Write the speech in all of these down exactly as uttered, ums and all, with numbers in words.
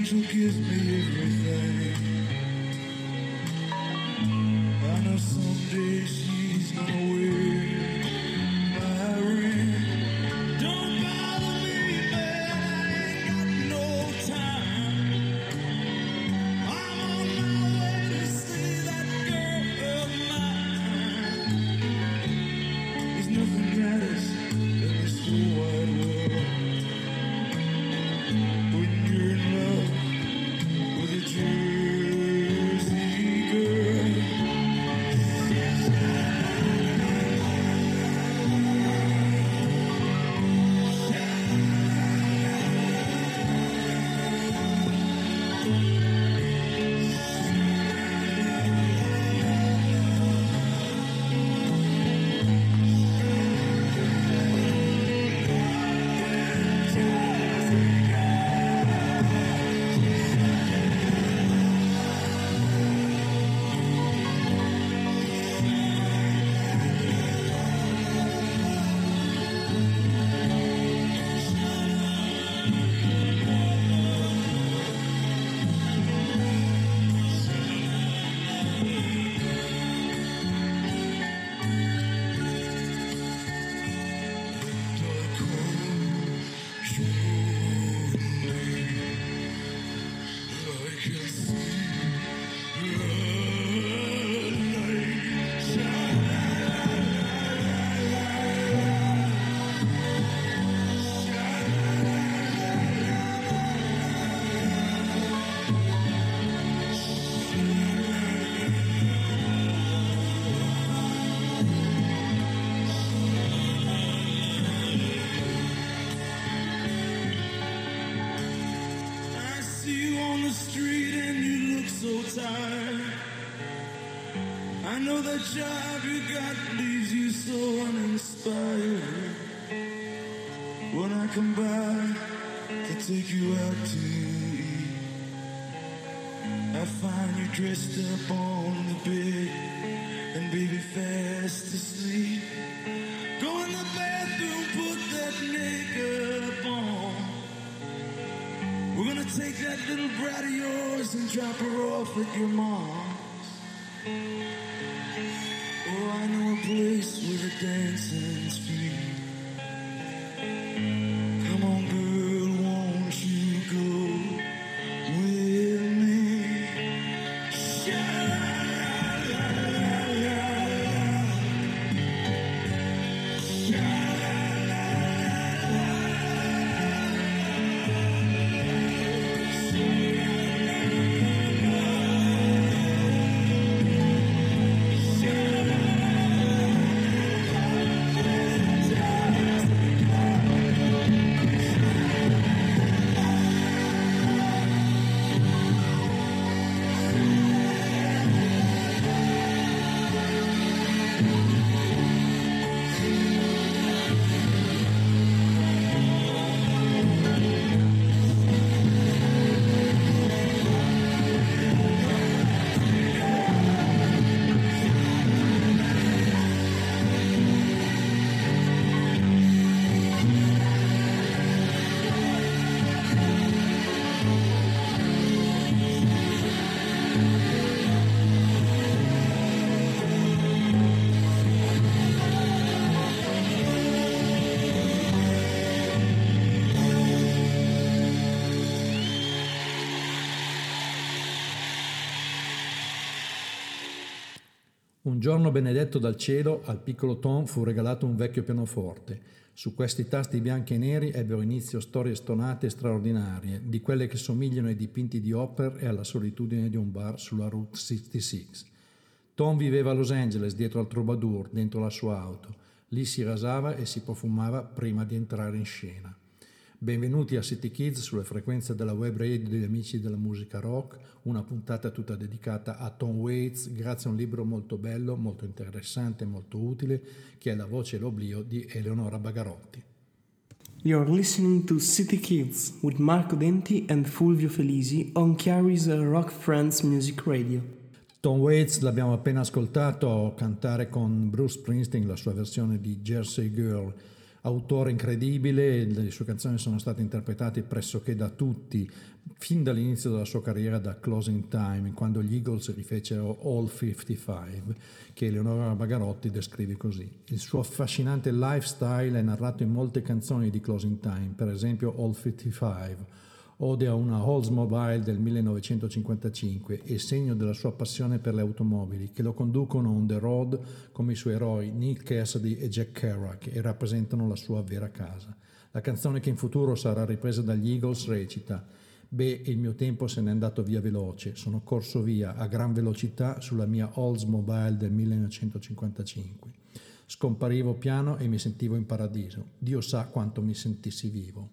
angel gives me everything. I know someday she's gonna wear my ring. Don't bother me, man, I ain't got no time. I'm on my way to see that girl of mine. There's nothing else in this whole wide world when you're in love with a Jersey girl. I know that job you got leaves you so uninspired. When I come by to take you out to eat, I find you dressed up on the bed and baby fast asleep. Go in the bathroom, put that makeup on. We're gonna take that little brat of yours and drop her off at your mom's. Oh, I know a place where the dancing's free. Come on, girl, won't you go with me? Un giorno benedetto dal cielo, al piccolo Tom fu regalato un vecchio pianoforte. Su questi tasti bianchi e neri ebbero inizio storie stonate e straordinarie, di quelle che somigliano ai dipinti di Hopper e alla solitudine di un bar sulla Route sessantasei. Tom viveva a Los Angeles, dietro al Troubadour, dentro la sua auto. Lì si rasava e si profumava prima di entrare in scena. Benvenuti a City Kids sulle frequenze della web radio degli amici della musica rock, una puntata tutta dedicata a Tom Waits grazie a un libro molto bello, molto interessante e molto utile che è La voce e l'oblio di Eleonora Bagarotti. You're listening to City Kids with Marco Denti and Fulvio Felisi on Chiari's Rock Friends Music Radio. Tom Waits l'abbiamo appena ascoltato cantare con Bruce Springsteen la sua versione di Jersey Girl. Autore incredibile, le sue canzoni sono state interpretate pressoché da tutti, fin dall'inizio della sua carriera da Closing Time, quando gli Eagles rifecero All cinquantacinque, che Eleonora Bagarotti descrive così. Il suo affascinante lifestyle è narrato in molte canzoni di Closing Time, per esempio All cinquantacinque, ode a una Oldsmobile del millenovecentocinquantacinque e segno della sua passione per le automobili, che lo conducono on the road come i suoi eroi Neil Cassidy e Jack Kerouac e rappresentano la sua vera casa. La canzone che in futuro sarà ripresa dagli Eagles recita: beh, il mio tempo se n'è andato via veloce, sono corso via a gran velocità sulla mia Oldsmobile del millenovecentocinquantacinque. Scomparivo piano e mi sentivo in paradiso. Dio sa quanto mi sentissi vivo.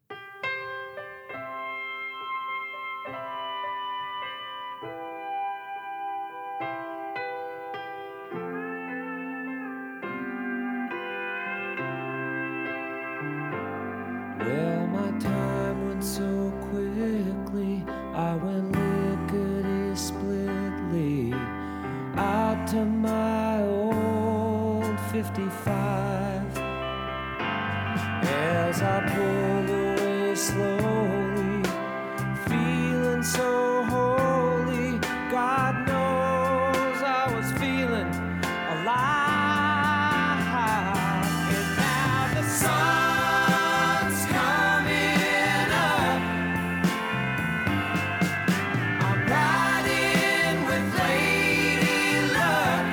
Well, my time went so quickly, I went lickety-splitly out to my old fifty-five. As I pulled away slowly, feeling so holy, God knows I was feeling alive. And now the sun's coming up, I'm riding with Lady Luck.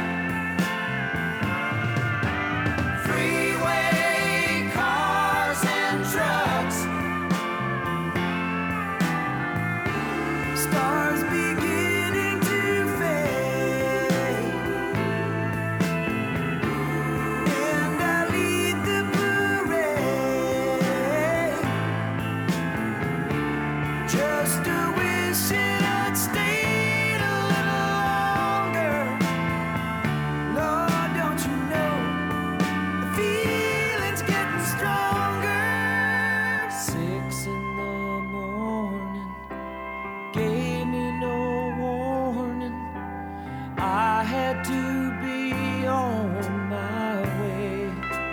Freeway cars and trucks, stars beginning to fade, and I lead the parade, just a wishing I'd stayed a little longer. Lord, don't you know the feeling's getting stronger? Six in the morning gave me no warning. I had to be on my way.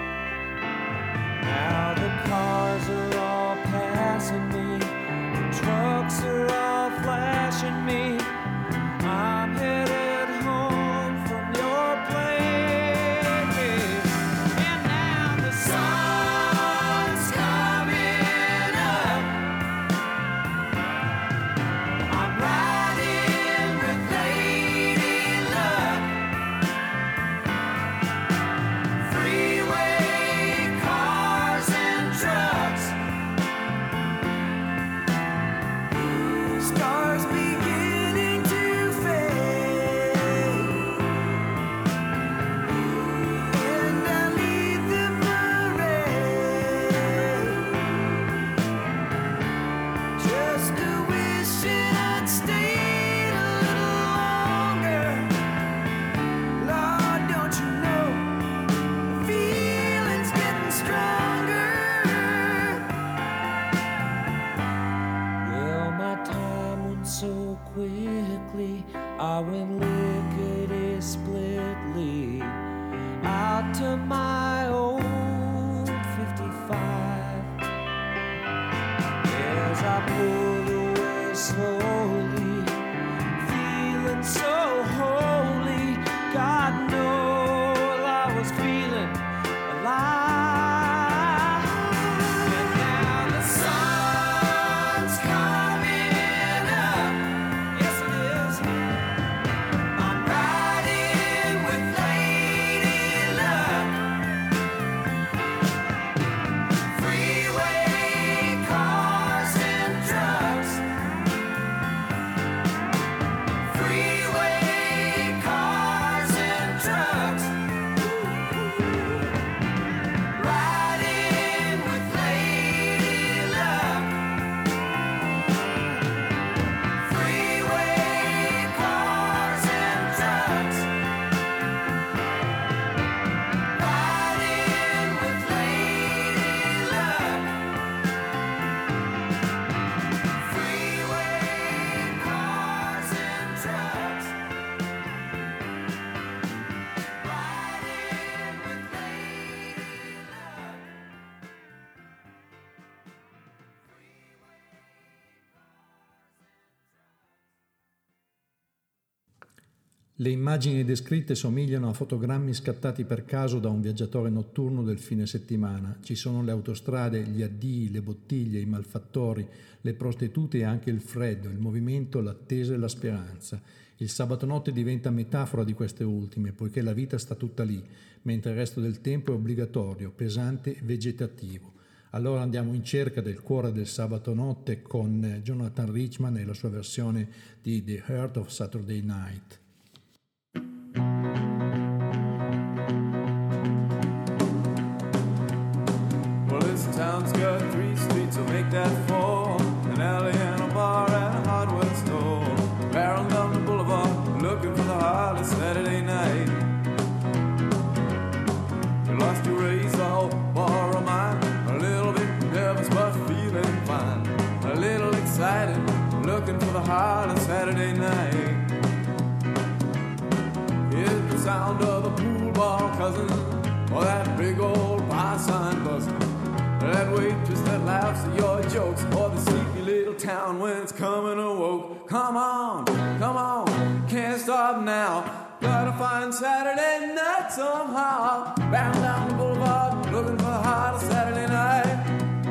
Now the cars are all passing me, the trucks are all flashing me. I'm headed home from your place. And now the sun's coming up, I'm riding with Lady Luck. Freeway cars and trucks, stars beginning to fade, and I lead the parade, just a wishing I'd stayed a little longer. Lord, don't you know the feeling's getting stronger? Well, my time went so quickly, I went lickety-splitly out to my old fifty-five. As I pulled away slowly, feeling so holy, God knows I was feeling alive. And now the sun's coming up, yes it is. I'm riding with Lady Luck. Le immagini descritte somigliano a fotogrammi scattati per caso da un viaggiatore notturno del fine settimana. Ci sono le autostrade, gli addii, le bottiglie, i malfattori, le prostitute e anche il freddo, il movimento, l'attesa e la speranza. Il sabato notte diventa metafora di queste ultime, poiché la vita sta tutta lì, mentre il resto del tempo è obbligatorio, pesante e vegetativo. Allora andiamo in cerca del cuore del sabato notte con Jonathan Richman e la sua versione di The Heart of Saturday Night. Well, this town's got three streets to make that four. An alley and a bar and a hardware store. Barrel down the boulevard, looking for the heart of Saturday night. You lost your razor, oh, borrow mine. A little bit nervous but feeling fine. A little excited, looking for the heart of Saturday night. Here's the sound of the pool ball cousin, or that big old bar sign buzzing. That waitress that laughs at your jokes, or the sleepy little town when it's coming awoke. Come on, come on, can't stop now. Gotta find Saturday night somehow. Bound down the boulevard, looking for the heart of Saturday night.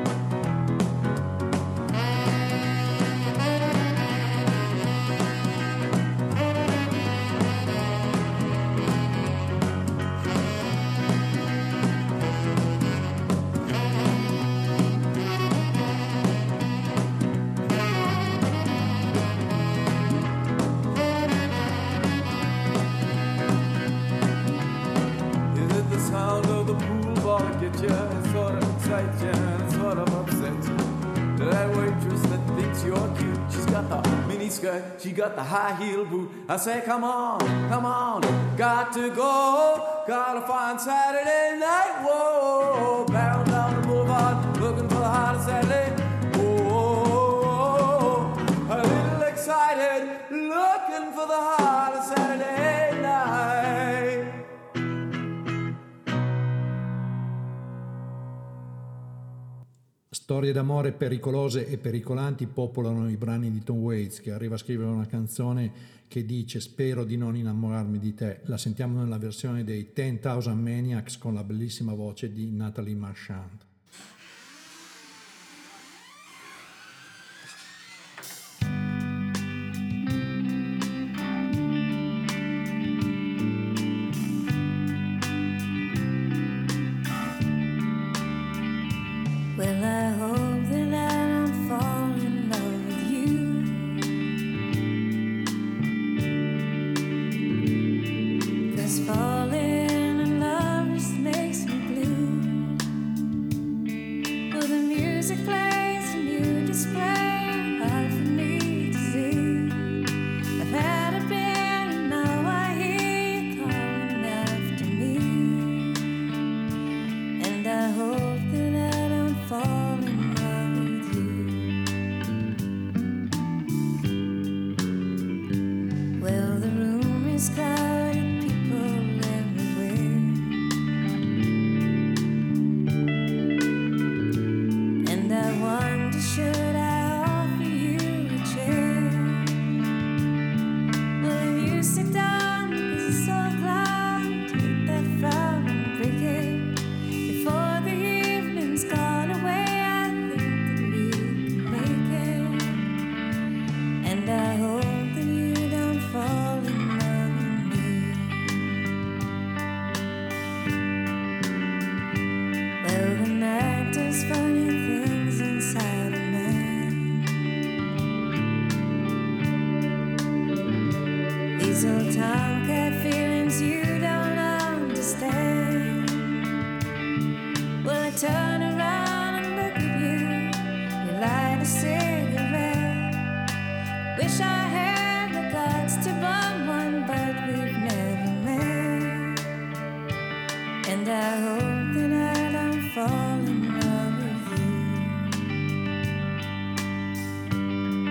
Get you, it sort of excites you, and it sort of upsets you. That waitress that thinks you're cute, she's got the mini skirt, she got the high heel boot. I say, come on, come on, got to go, gotta find Saturday night. Whoa, bound down the boulevard, looking for the heart of Saturday. Whoa, a little excited, looking for the heart of Saturday night. Storie d'amore pericolose e pericolanti popolano i brani di Tom Waits, che arriva a scrivere una canzone che dice spero di non innamorarmi di te. La sentiamo nella versione dei ten thousand Maniacs con la bellissima voce di Natalie Marchand. Well, I hope that I don't fall in love with you. Cause falling in love just makes me blue. Well, the music plays and you display hard for me to see. I've had a beer and now I hear you calling after me. And I hope that I fall in love with you. Well, the room is crowded, people everywhere, and I wonder, should I offer you a chair? Well, if you sit down, cause it's so glad, take that frown and break it before the evening's gone away. I think that we can make it, and I hope that you don't fall in love with me. Well, the night does funny things inside a man. These old tomcat feelings you don't understand. Well, I turn around and look at you. You light a cigarette. Wish I had the guts to bum one, but we've never met. And I hope that I don't fall in love with you.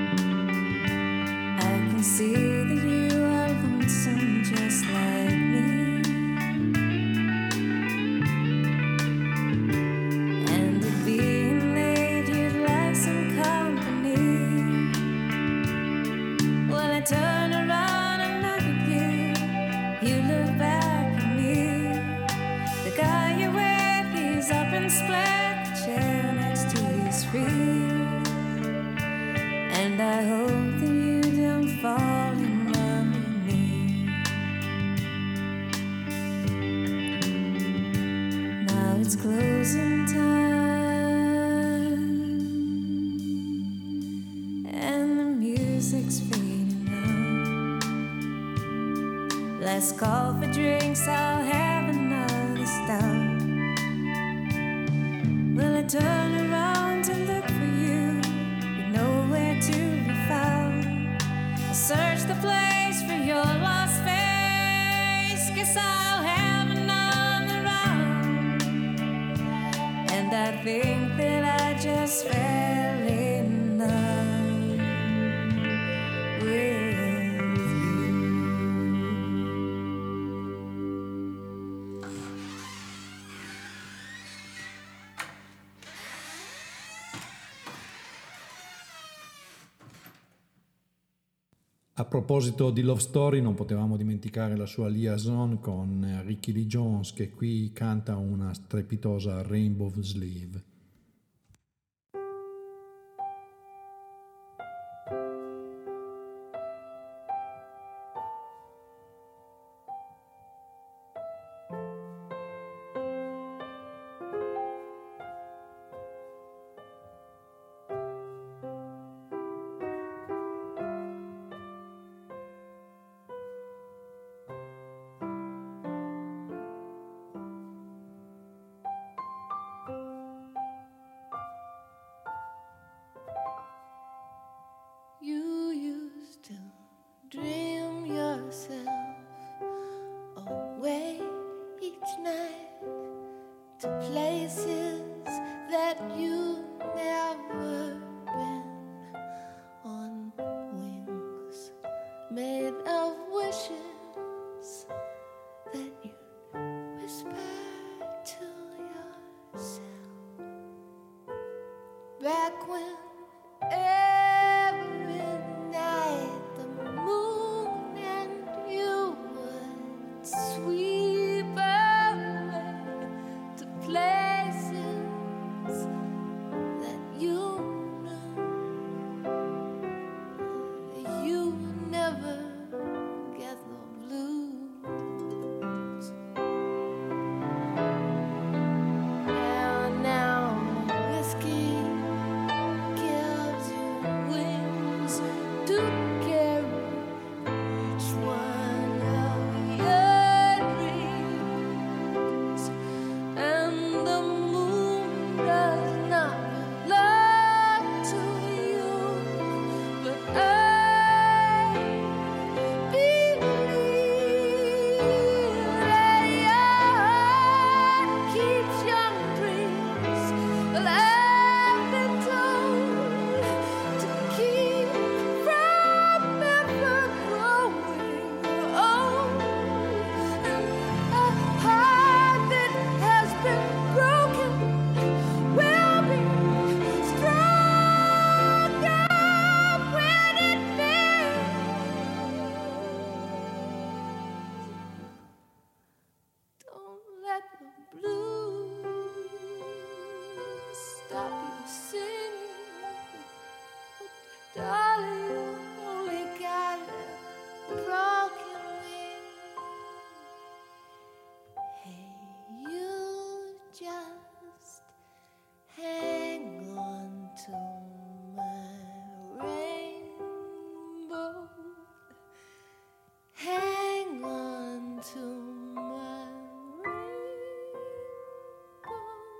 I can see that you are lonesome just like me. I hope that you don't fall in love with me. Now it's closing time and the music's fading out. Let's call for drinks, I'll have another stout. Will I turn around to look for you? You're nowhere to be found. I'll search the place for your lost face. Guess I'll have another round. And I think that I just fell in love with A proposito di Love Story, non potevamo dimenticare la sua liaison con Ricky Lee Jones, che qui canta una strepitosa Rainbow Sleeve. You used to dream yourself away each night to places that you never been, on wings made of wishes that you whisper to yourself. Back when every night the moon and you would sweep away to places that you knew you would never get the blues. And now whiskey gives you wings to carry each one of your dreams, and the moon does not belong to you, but I believe that your heart keeps young dreams alive and told to keep from ever growing old. And a heart that has been broken will be stronger when it mends. Don't let the blues stop you singing. Oh, darling, you only got a broken wing. Hey, you just hang on to my rainbow. Hang on to my rainbow.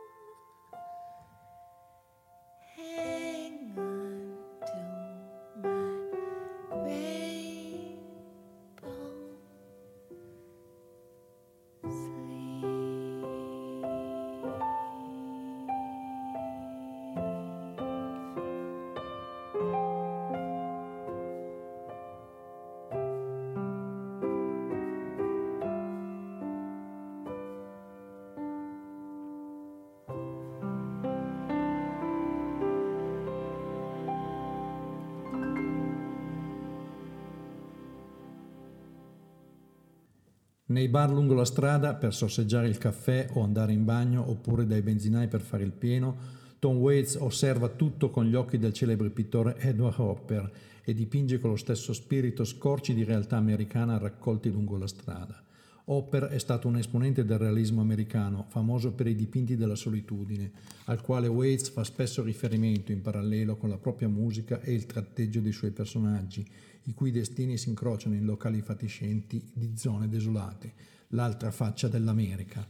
Hang on to my rainbow Nei bar lungo la strada per sorseggiare il caffè o andare in bagno, oppure dai benzinai per fare il pieno, Tom Waits osserva tutto con gli occhi del celebre pittore Edward Hopper e dipinge con lo stesso spirito scorci di realtà americana raccolti lungo la strada. Hopper è stato un esponente del realismo americano, famoso per i dipinti della solitudine, al quale Waits fa spesso riferimento in parallelo con la propria musica e il tratteggio dei suoi personaggi, i cui destini si incrociano in locali fatiscenti di zone desolate, l'altra faccia dell'America.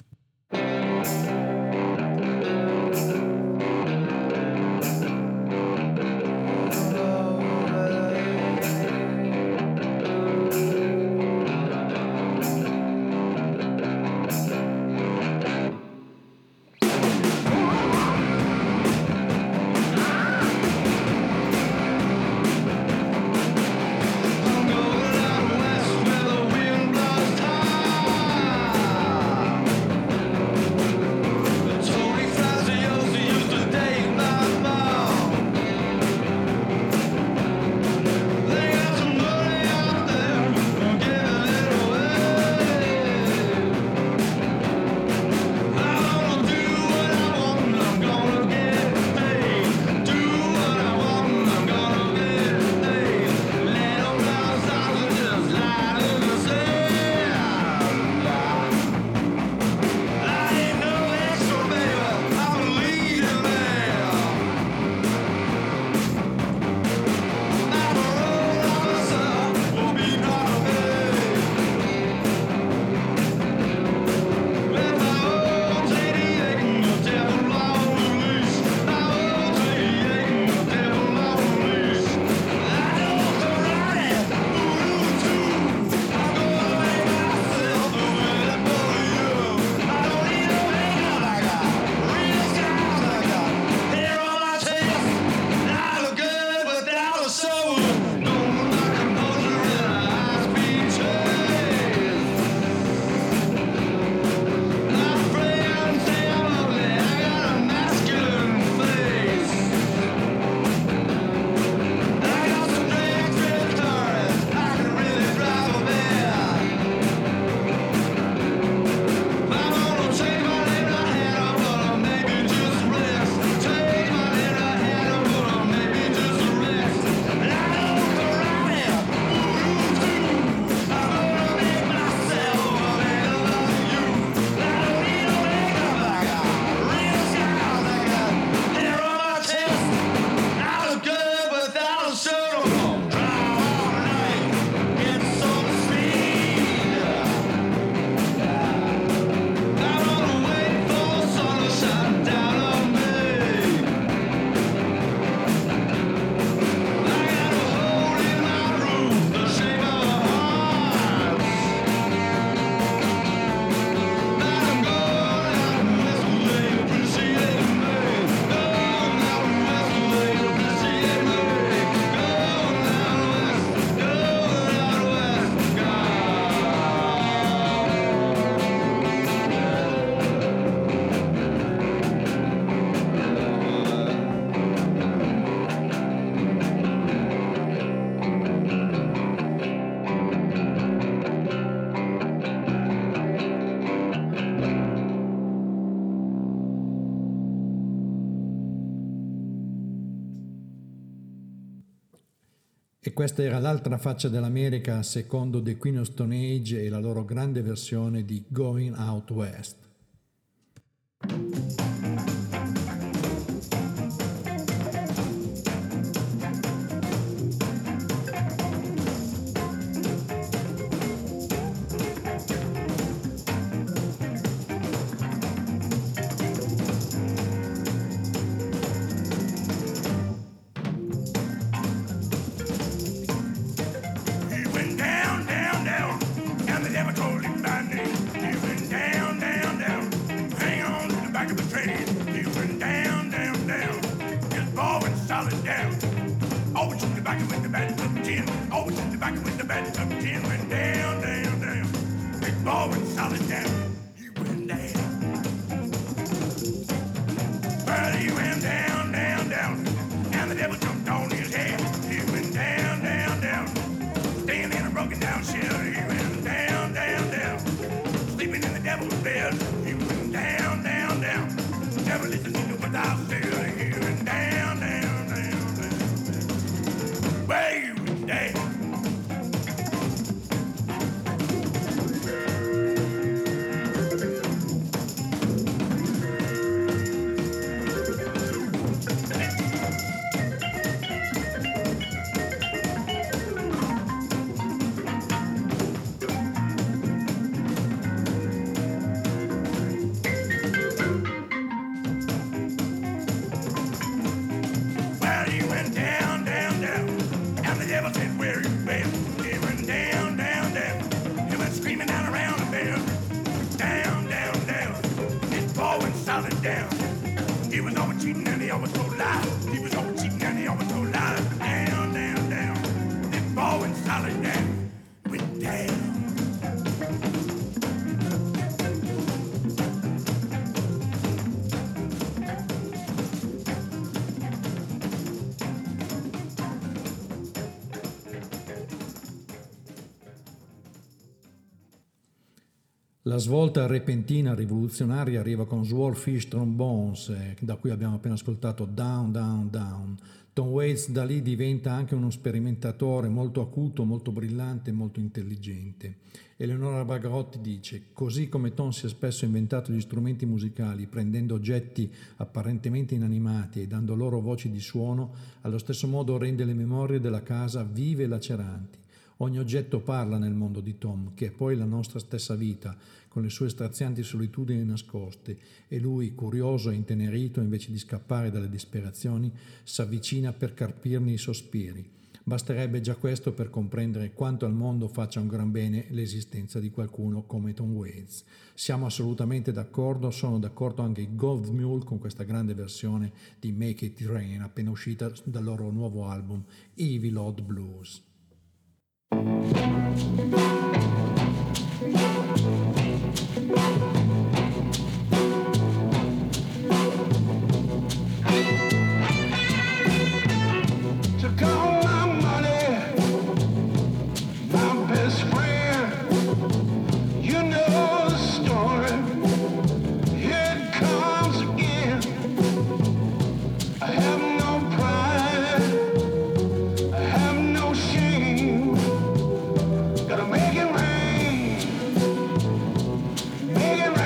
E questa era l'altra faccia dell'America secondo The Queen of Stone Age e la loro grande versione di Going Out West. He went down, down, down, and the devil told him by name. He went down, down, down, hang on to the back of the train. He went down, down, down, his ball went solid down. Always in the back with the bad of tin, always in the back with the bad of tin. Went down, down, down, his ball went solid down. He went down. Well, he went down, down, down, and the devil jumped on his head. He went down, down, down, staying in a broken down shell. He went down, down, down, sleeping in the devil's bed. He went down, down, down, never listening to what I said. La svolta repentina rivoluzionaria arriva con Swordfish Trombones, eh, da cui abbiamo appena ascoltato Down, Down, Down. Tom Waits da lì diventa anche uno sperimentatore molto acuto, molto brillante e molto intelligente. Eleonora Bagrotti dice: così come Tom si è spesso inventato gli strumenti musicali prendendo oggetti apparentemente inanimati e dando loro voci di suono, allo stesso modo rende le memorie della casa vive e laceranti. Ogni oggetto parla nel mondo di Tom, che è poi la nostra stessa vita, con le sue strazianti solitudini nascoste, e lui, curioso e intenerito, invece di scappare dalle disperazioni, s'avvicina per carpirne i sospiri. Basterebbe già questo per comprendere quanto al mondo faccia un gran bene l'esistenza di qualcuno come Tom Waits. Siamo assolutamente d'accordo, sono d'accordo anche i Gold Mule con questa grande versione di Make It Rain, appena uscita dal loro nuovo album Evil Odd Blues. Took all my money, my best friend. You know the story. Here it comes again. I have no pride. I have no shame. Gotta make it rain. Make it rain.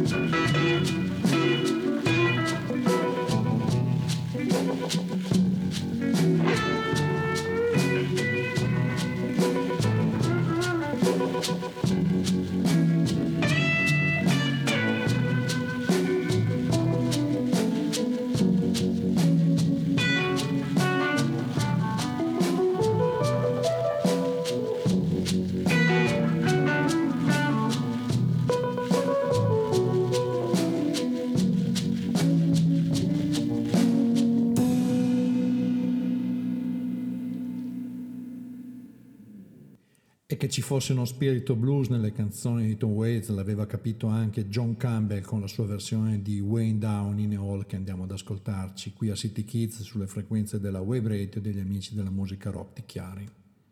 Che ci fosse uno spirito blues nelle canzoni di Tom Waits l'aveva capito anche John Campbell con la sua versione di Way Down in the Hall, che andiamo ad ascoltarci qui a City Kids sulle frequenze della Wave Radio degli amici della musica rock di Chiari.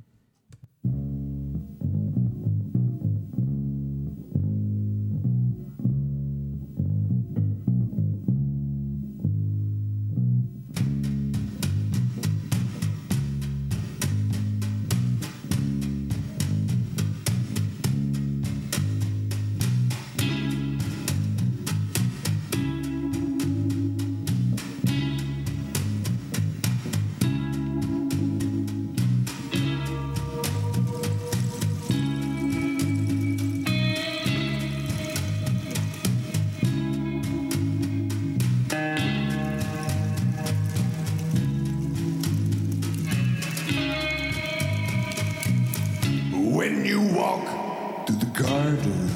When you walk through the garden,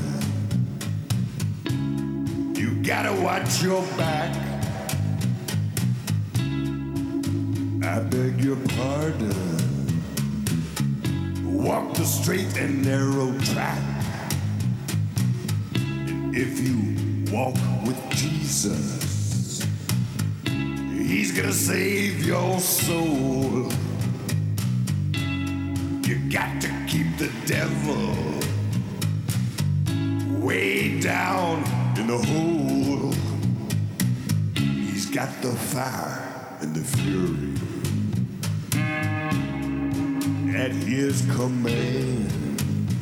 you gotta watch your back. I beg your pardon. Walk the straight and narrow track. And if you walk with Jesus, He's gonna save your soul. You got to keep the devil way down in the hole. He's got the fire and the fury at his command.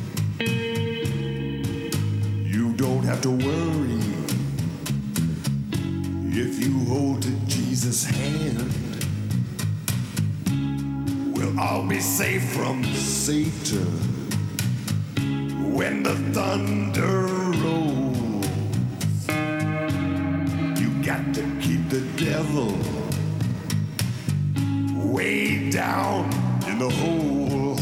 You don't have to worry if you hold to Jesus' hand. We'll all be safe from Satan when the thunder rolls. You got to keep the devil way down in the hole.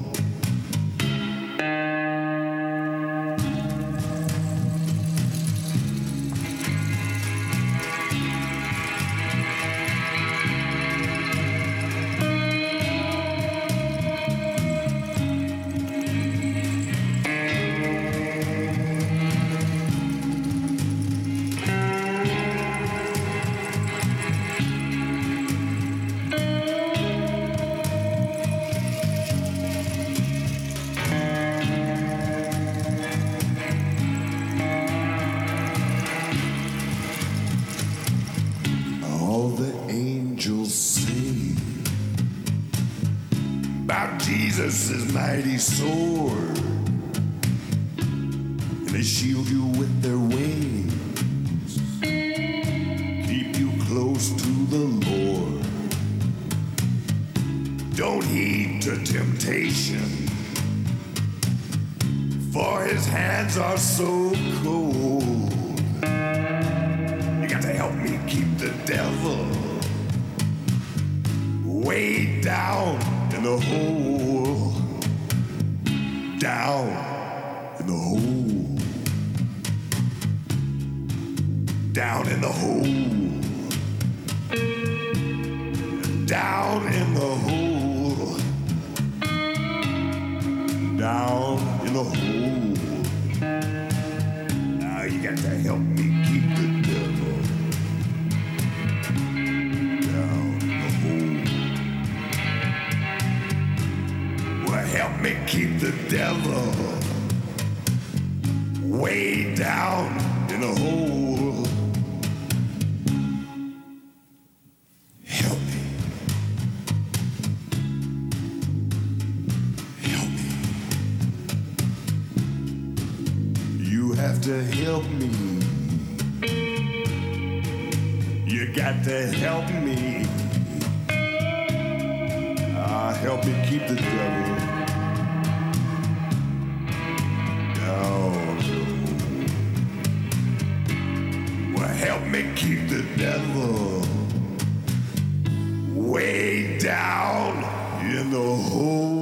Jesus' mighty sword, and they shield you with their wings, keep you close to the Lord. Don't heed to temptation, for his hands are so cold. You got to help me keep the devil way down in the hole, down in the hole, down in the hole, down in the hole, down in the hole. Now you got to help me keep the devil down in the hole. Well, help me keep the devil way down in the hole. Help me. Help me. You have to help me you got to help me. Ah, help me keep the devil down. Well, help me keep the devil way down in the hole.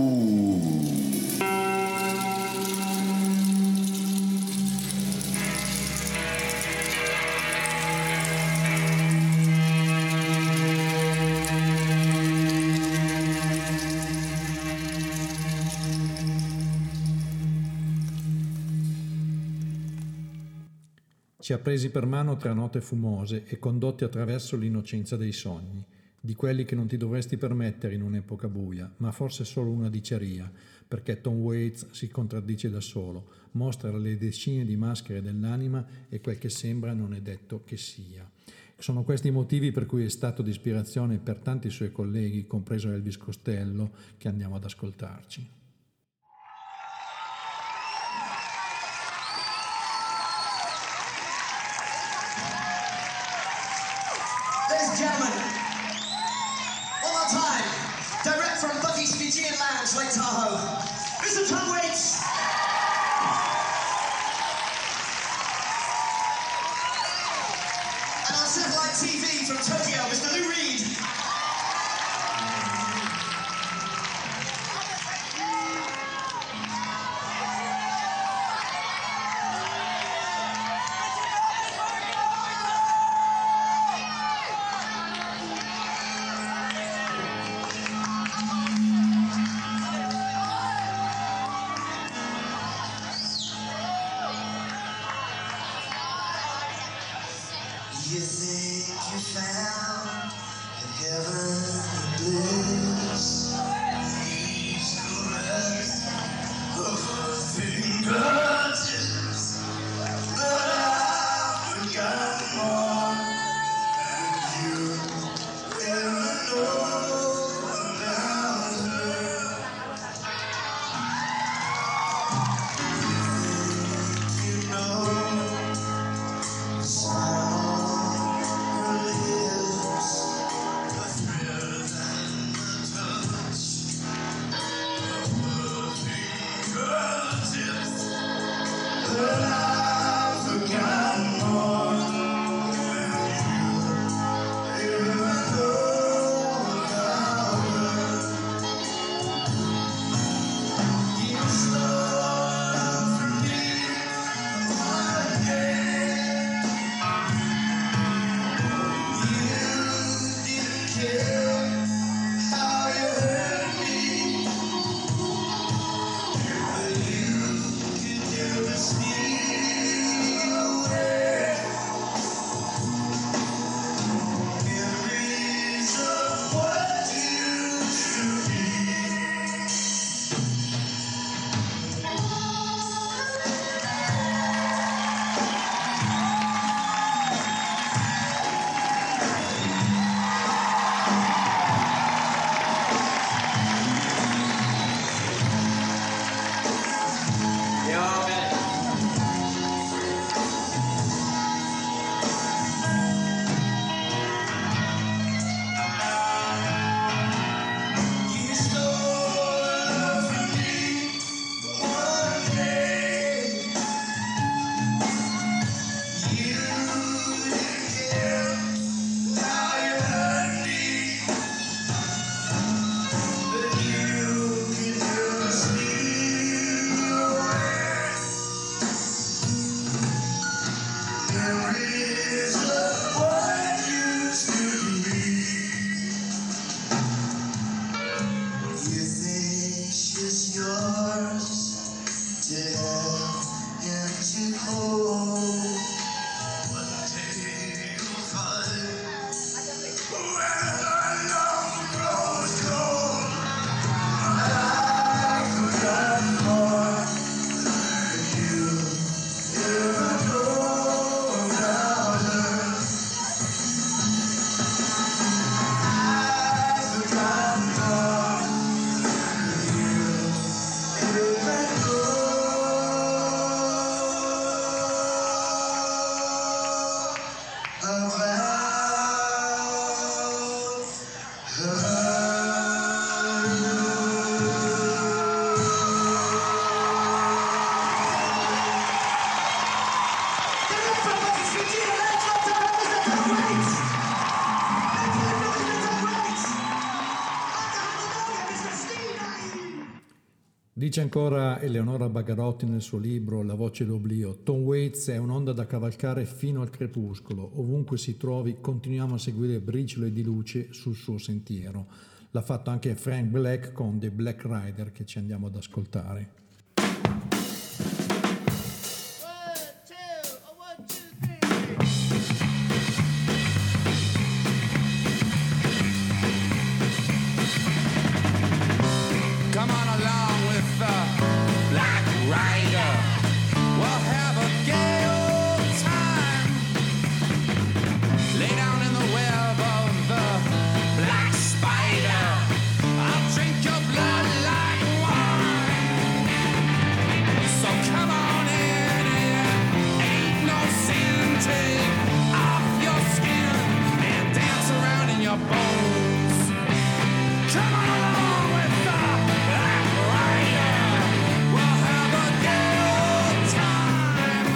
Ci ha presi per mano tra note fumose e condotti attraverso l'innocenza dei sogni, di quelli che non ti dovresti permettere in un'epoca buia, ma forse solo una diceria, perché Tom Waits si contraddice da solo, mostra le decine di maschere dell'anima e quel che sembra non è detto che sia. Sono questi i motivi per cui è stato di ispirazione per tanti suoi colleghi, compreso Elvis Costello, che andiamo ad ascoltarci. Ladies and gentlemen, one more time, direct from Bucky's Fijian Lounge, Lake Tahoe, Mister Tom Waits. And on satellite T V from Tokyo, Mister Lou Reed. You think you found in heaven bliss? Leaves the rest of her fingertips, but I've forgotten more than you ever know about her. You know, about Dice ancora Eleonora Bagarotti nel suo libro La voce d'oblio: Tom Waits è un'onda da cavalcare fino al crepuscolo, ovunque si trovi continuiamo a seguire briciole di luce sul suo sentiero. L'ha fatto anche Frank Black con The Black Rider, che ci andiamo ad ascoltare. Come on along with the Black Rider. We'll have a gay old time. Lay down in the web of the black spider. I'll drink your blood like wine. So come on in, it ain't no sin. Take off your skin and dance around in your bones. Come on along with the Black Rider. We'll have a gay old time.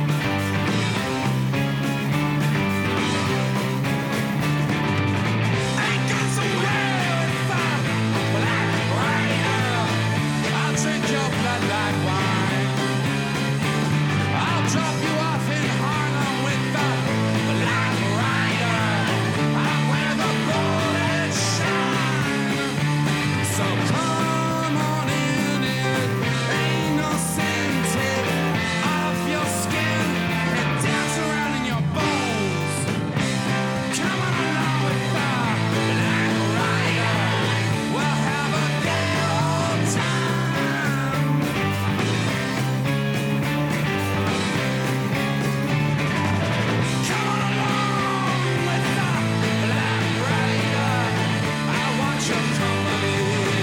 Ain't got somewhere with the Black Rider. I'll drink your blood like wine. I'll drop you off in Harlem with the Black Rider. I'll wear the golden shine. So come on in, it ain't no sin. Take off your skin and dance around in your bones. Come on along with the Black Rider. We'll have a gay old time. Come on along with the Black Rider. I want your company.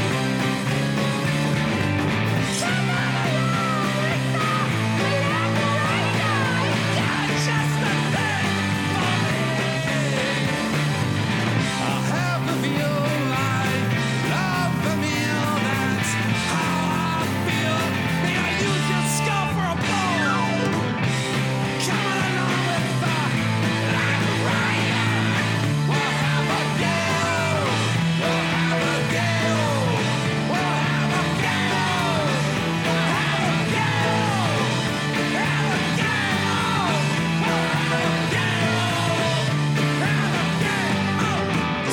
Come on along with the Black Rider. You got just the thing for me. I'll have the veal line, love the meal. That's how I feel. May I use your skull for a bone? Come on along with the Black Rider. We'll have a gale. We'll have a gale. We'll have a gale. We'll have a gale. Have a gale. We'll have a gale. Have a gale.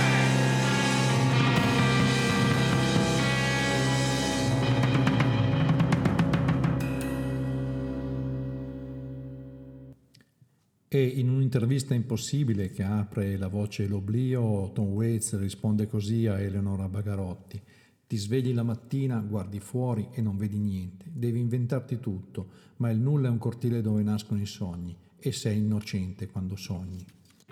E in un'intervista impossibile che apre La voce e l'oblio, Tom Waits risponde così a Eleonora Bagarotti: ti svegli la mattina, guardi fuori e non vedi niente, devi inventarti tutto, ma il nulla è un cortile dove nascono i sogni e sei innocente quando sogni.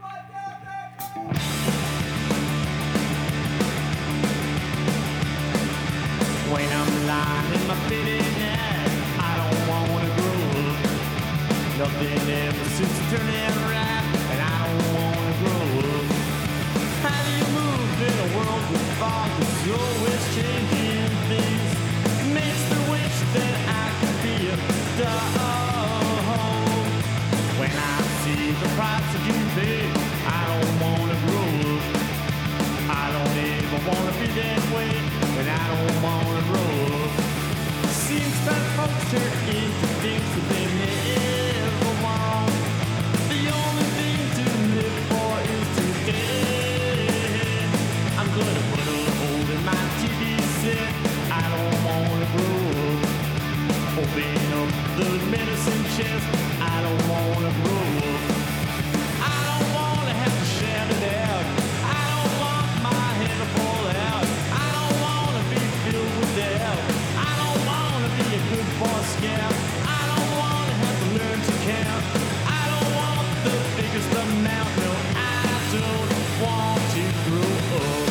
When I'm lying in my bed at night, I don't wanna grow up. Nothing ever seems to turn out right, and I don't wanna grow up. How do you move in a world with fog that's always changing things? It makes me wish that I could be a dog. When I see the price that you pay, I don't wanna grow up. I don't ever wanna be that way, and I don't wanna grow up. Seems that folks turn into things that they never want. The only thing to live for is today. I'm gonna put a hole in my T V set. I don't wanna grow up. Open up the medicine chest. I don't wanna grow up. I don't wanna have to shout it out. I don't want my head to fall out. I don't wanna be filled with doubt. I don't wanna be a good boy scout. I don't wanna have to learn to count. I don't want the biggest amount. No, I don't want to grow up.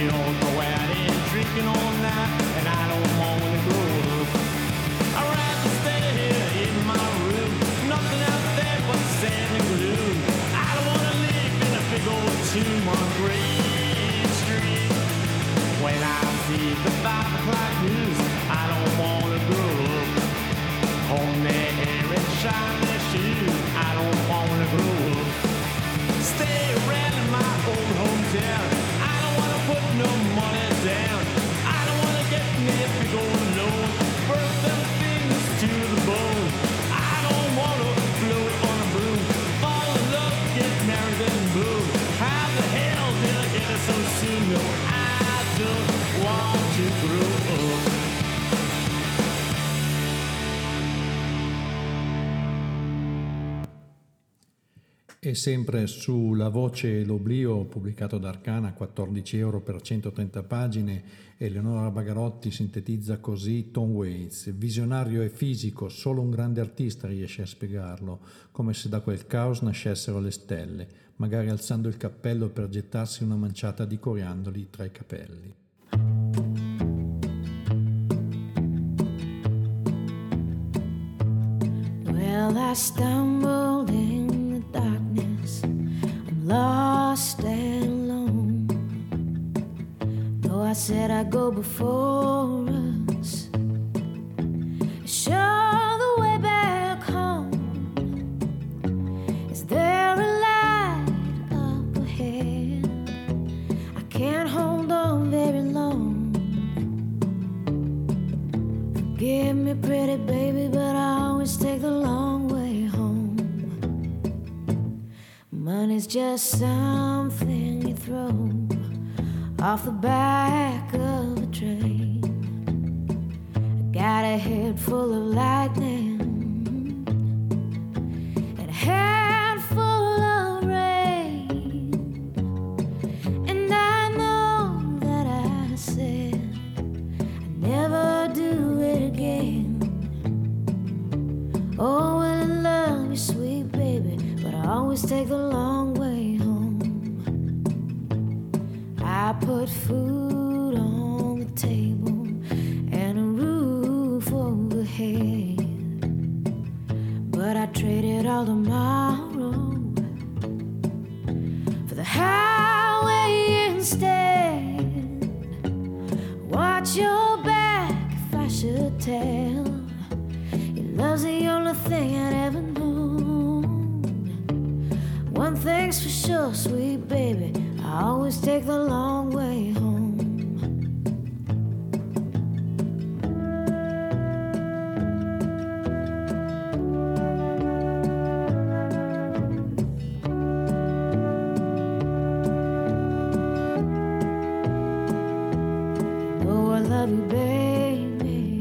drinking all night, and I don't wanna grow up. I'd rather the five o'clock news. I don't wanna grow up. Comb their hair and shine their shoes. I don't wanna grow up. Stay around in my old hometown. I don't wanna put no money down. I don't wanna get me a big old loan. Work them fingers to the bone. I don't wanna float on a broom. Fall in love, get married and boom. How the hell did I get it so soon? No, I don't want to grow up. E sempre su La voce e l'oblio, pubblicato da Arcana, quattordici euro per centotrenta pagine, Eleonora Bagarotti sintetizza così Tom Waits: visionario e fisico, solo un grande artista riesce a spiegarlo, come se da quel caos nascessero le stelle, magari alzando il cappello per gettarsi una manciata di coriandoli tra i capelli. Well, I stumbled in the darkness. I'm lost and alone. Though I said I'd go before us, show the way back home. Is there a light up ahead? I can't hold on very long. Forgive me, pretty baby, but I always take the long way home. Money's just something you throw off the back of a train. I got a head full of lightning and a head full of rain, and I know that I said I'd never do it again. Oh, well, I love you, sweet baby, but I always take the long way home. I put food on the table and a roof overhead, but I traded all tomorrow for the highway instead. Watch your back if I should tell. Love's the only thing I'd ever known. One thing's for sure, sweet baby, I always take the long way home. Oh, I love you, baby,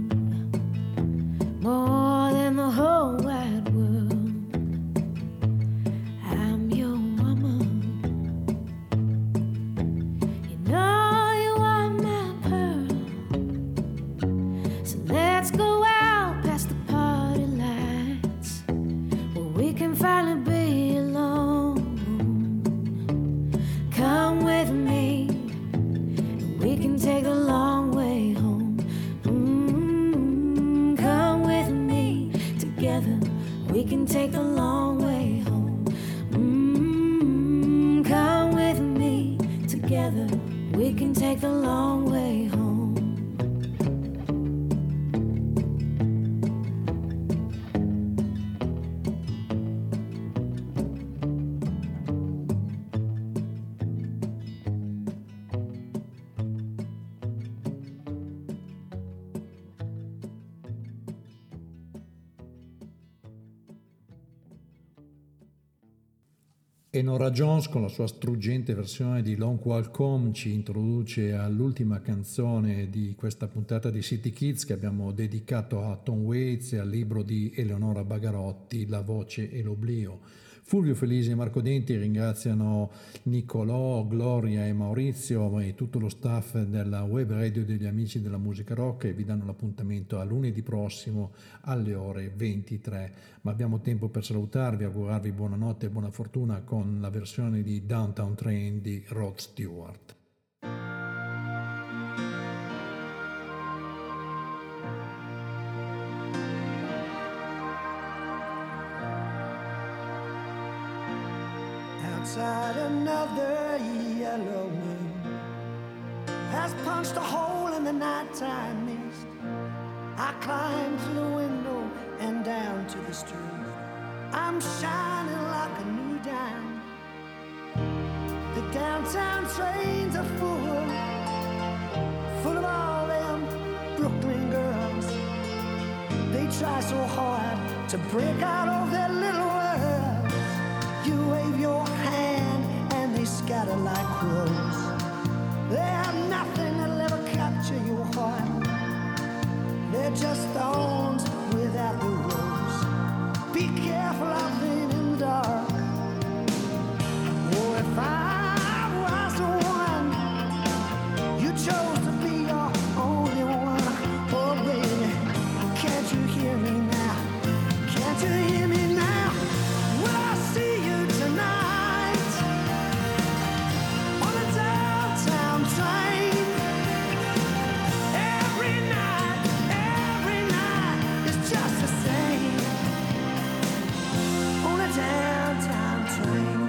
more than the whole wide world. I'm your woman. You know you are my pearl. So let's go out past the party lights, where we can finally be alone. Come with me, and we can take the long way home. Mm, come with me, together we can take the long way home. Mm, come with me, together we can take the long way home. E Nora Jones, con la sua struggente versione di Long Walk Home, ci introduce all'ultima canzone di questa puntata di City Kids, che abbiamo dedicato a Tom Waits e al libro di Eleonora Bagarotti, La voce e l'oblio. Fulvio Felisi e Marco Denti ringraziano Nicolò, Gloria e Maurizio e tutto lo staff della web radio degli Amici della Musica Rock, e vi danno l'appuntamento a lunedì prossimo alle ore ventitré. Ma abbiamo tempo per salutarvi, augurarvi buonanotte e buona fortuna con la versione di Downtown Train di Rod Stewart. Outside another yellow moon, has punched a hole in the nighttime mist. I climb through the window and down to the street. I'm shining like a new dime. The downtown trains are full, full of all them Brooklyn girls. They try so hard to break out of their little world. You wave your hand and they scatter like crows. They have nothing that'll ever capture your heart. They're just thorns without the rose. Be careful out there in the dark. Oh, if I was the one you chose to be your only one. Oh, baby, can't you hear me now? Can't you hear me now? Will I see you tonight on the downtown train? Every night, every night is just the same on a downtown train.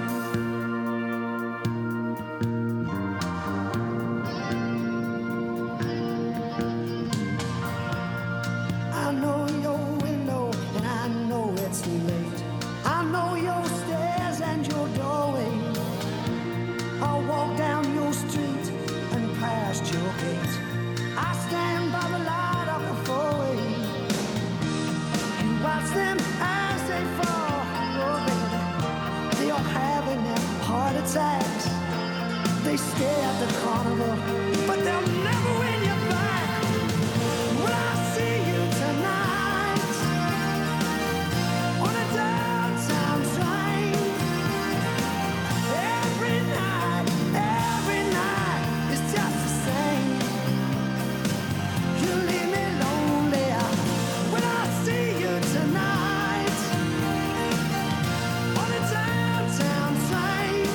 I know your window and I know it's late. I know your stairs and your doorway. I'll walk down your street and past your gate. I stand by the light of the four-way. You watch them as they fall. Oh, baby, they are having their heart attacks. They stay at the carnival, but they'll never win you back. Will I see you tonight on a downtown train? Every night, every night is just the same. You leave me lonely. Will I see you tonight on a downtown train?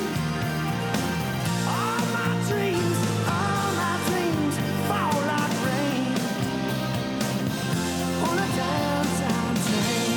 All my dreams, all my dreams fall like rain on a downtown train.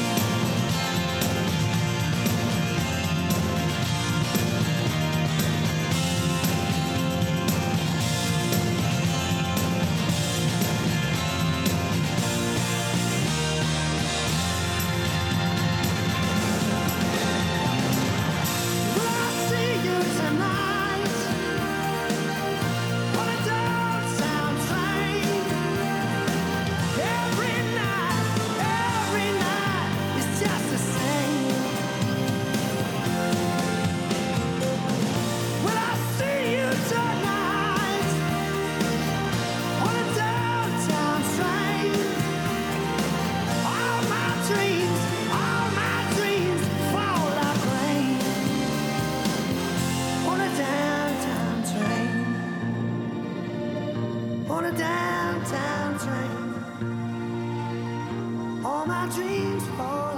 Will I see you tonight on a downtown train? Every night, every night is just the same. Will I see you tonight on a downtown train? All my dreams, all my dreams fall like rain on a downtown train. On a downtown train. All my dreams fall